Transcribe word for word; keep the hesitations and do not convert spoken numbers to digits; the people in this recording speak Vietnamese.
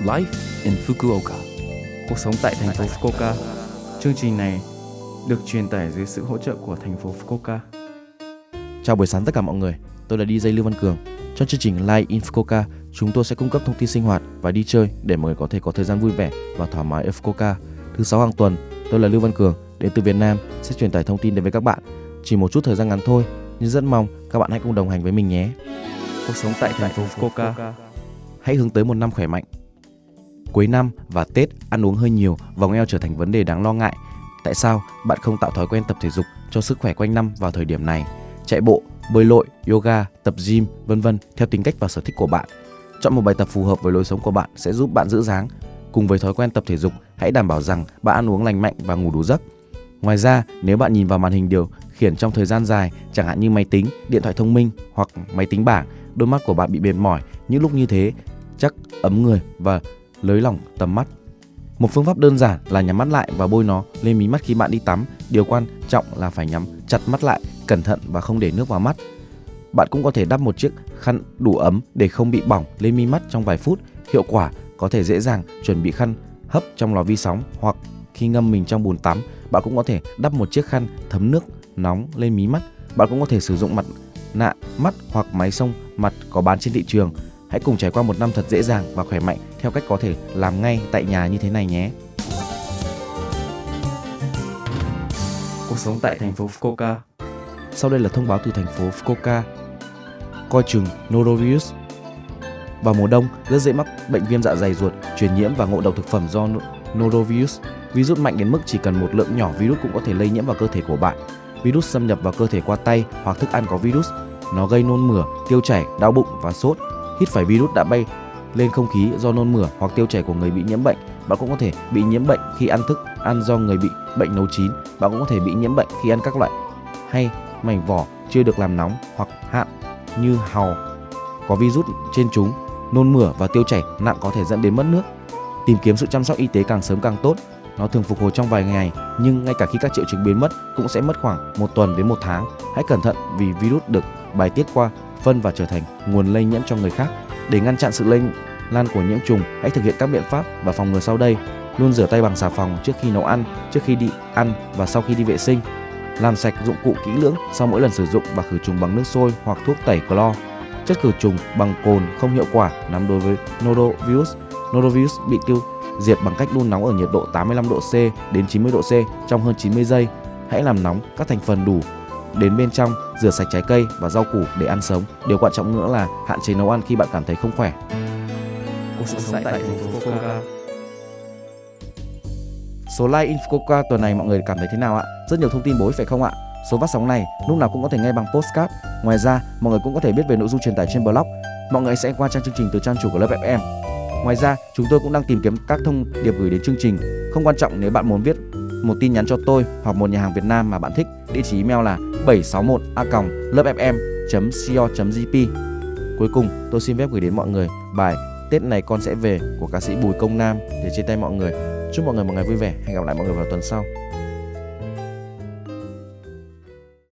Life in Fukuoka. Cuộc sống tại thành phố Fukuoka. Chương trình này được truyền tải dưới sự hỗ trợ của thành phố Fukuoka. Chào buổi sáng tất cả mọi người, tôi là đi jay Lưu Văn Cường. Trong chương trình Life in Fukuoka, chúng tôi sẽ cung cấp thông tin sinh hoạt và đi chơi để mọi người có thể có thời gian vui vẻ và thoải mái ở Fukuoka. Thứ sáu hàng tuần, tôi là Lưu Văn Cường, đến từ Việt Nam, sẽ truyền tải thông tin đến với các bạn. Chỉ một chút thời gian ngắn thôi, nhưng rất mong các bạn hãy cùng đồng hành với mình nhé. Cuộc sống tại thành phố Fukuoka. Hãy hướng tới một năm khỏe mạnh. Cuối năm và Tết ăn uống hơi nhiều, vòng eo trở thành vấn đề đáng lo ngại. Tại sao bạn không tạo thói quen tập thể dục cho sức khỏe quanh năm vào thời điểm này? Chạy bộ, bơi lội, yoga, tập gym, vân vân theo tính cách và sở thích của bạn. Chọn một bài tập phù hợp với lối sống của bạn sẽ giúp bạn giữ dáng. Cùng với thói quen tập thể dục, hãy đảm bảo rằng bạn ăn uống lành mạnh và ngủ đủ giấc. Ngoài ra, nếu bạn nhìn vào màn hình điều khiển trong thời gian dài, chẳng hạn như máy tính, điện thoại thông minh hoặc máy tính bảng, đôi mắt của bạn bị mệt mỏi. Những lúc như thế, chắc ấm người và nới lỏng tầm mắt. Một phương pháp đơn giản là nhắm mắt lại và bôi nó lên mí mắt khi bạn đi tắm. Điều quan trọng là phải nhắm chặt mắt lại, cẩn thận và không để nước vào mắt. Bạn cũng có thể đắp một chiếc khăn đủ ấm để không bị bỏng lên mi mắt trong vài phút. Hiệu quả có thể dễ dàng chuẩn bị khăn hấp trong lò vi sóng, hoặc khi ngâm mình trong bồn tắm, bạn cũng có thể đắp một chiếc khăn thấm nước nóng lên mí mắt. Bạn cũng có thể sử dụng mặt nạ mắt hoặc máy xông mặt có bán trên thị trường. Hãy cùng trải qua một năm thật dễ dàng và khỏe mạnh theo cách có thể làm ngay tại nhà như thế này nhé. Cuộc sống tại thành phố Fukuoka. Sau đây là thông báo từ thành phố Fukuoka. Coi chừng norovirus. Vào mùa đông, rất dễ mắc bệnh viêm dạ dày ruột, truyền nhiễm và ngộ độc thực phẩm do norovirus. Virus mạnh đến mức chỉ cần một lượng nhỏ virus cũng có thể lây nhiễm vào cơ thể của bạn. Virus xâm nhập vào cơ thể qua tay hoặc thức ăn có virus. Nó gây nôn mửa, tiêu chảy, đau bụng và sốt. Hít phải virus đã bay lên không khí do nôn mửa hoặc tiêu chảy của người bị nhiễm bệnh. Bạn cũng có thể bị nhiễm bệnh khi ăn thức ăn do người bị bệnh nấu chín. Bạn cũng có thể bị nhiễm bệnh khi ăn các loại hay mảnh vỏ chưa được làm nóng hoặc hạn như hàu có virus trên chúng. Nôn mửa và tiêu chảy nặng có thể dẫn đến mất nước. Tìm kiếm sự chăm sóc y tế càng sớm càng tốt. Nó thường phục hồi trong vài ngày, nhưng ngay cả khi các triệu chứng biến mất cũng sẽ mất khoảng một tuần đến một tháng. Hãy cẩn thận vì virus được bài tiết qua phân và trở thành nguồn lây nhiễm cho người khác. Để ngăn chặn sự lây lan của nhiễm trùng, hãy thực hiện các biện pháp và phòng ngừa sau đây. Luôn rửa tay bằng xà phòng trước khi nấu ăn, trước khi đi ăn và sau khi đi vệ sinh. Làm sạch dụng cụ kỹ lưỡng sau mỗi lần sử dụng và khử trùng bằng nước sôi hoặc thuốc tẩy clo. Chất khử trùng bằng cồn không hiệu quả nắm đối với norovirus. Norovirus bị tiêu diệt bằng cách đun nóng ở nhiệt độ tám mươi lăm độ C đến chín mươi độ C trong hơn chín mươi giây. Hãy làm nóng các thành phần đủ đến bên trong, rửa sạch trái cây và rau củ để ăn sống. Điều quan trọng nữa là hạn chế nấu ăn khi bạn cảm thấy không khỏe. Cuộc sống tại thành phố Fukuoka. Số Live in Fukuoka tuần này mọi người cảm thấy thế nào ạ? Rất nhiều thông tin bổ ích phải không ạ? Số phát sóng này lúc nào cũng có thể nghe bằng podcast. Ngoài ra, mọi người cũng có thể biết về nội dung truyền tải trên blog. Mọi người sẽ qua trang chương trình từ trang chủ của lớp ép em. Ngoài ra, chúng tôi cũng đang tìm kiếm các thông điệp gửi đến chương trình. Không quan trọng nếu bạn muốn viết một tin nhắn cho tôi hoặc một nhà hàng Việt Nam mà bạn thích. Địa chỉ email là bảy sáu một a còng lớp ép em chấm co chấm jp. Cuối cùng, tôi xin phép gửi đến mọi người bài Tết này con sẽ về của ca sĩ Bùi Công Nam để chia tay mọi người. Chúc mọi người một ngày vui vẻ. Hẹn gặp lại mọi người vào tuần sau.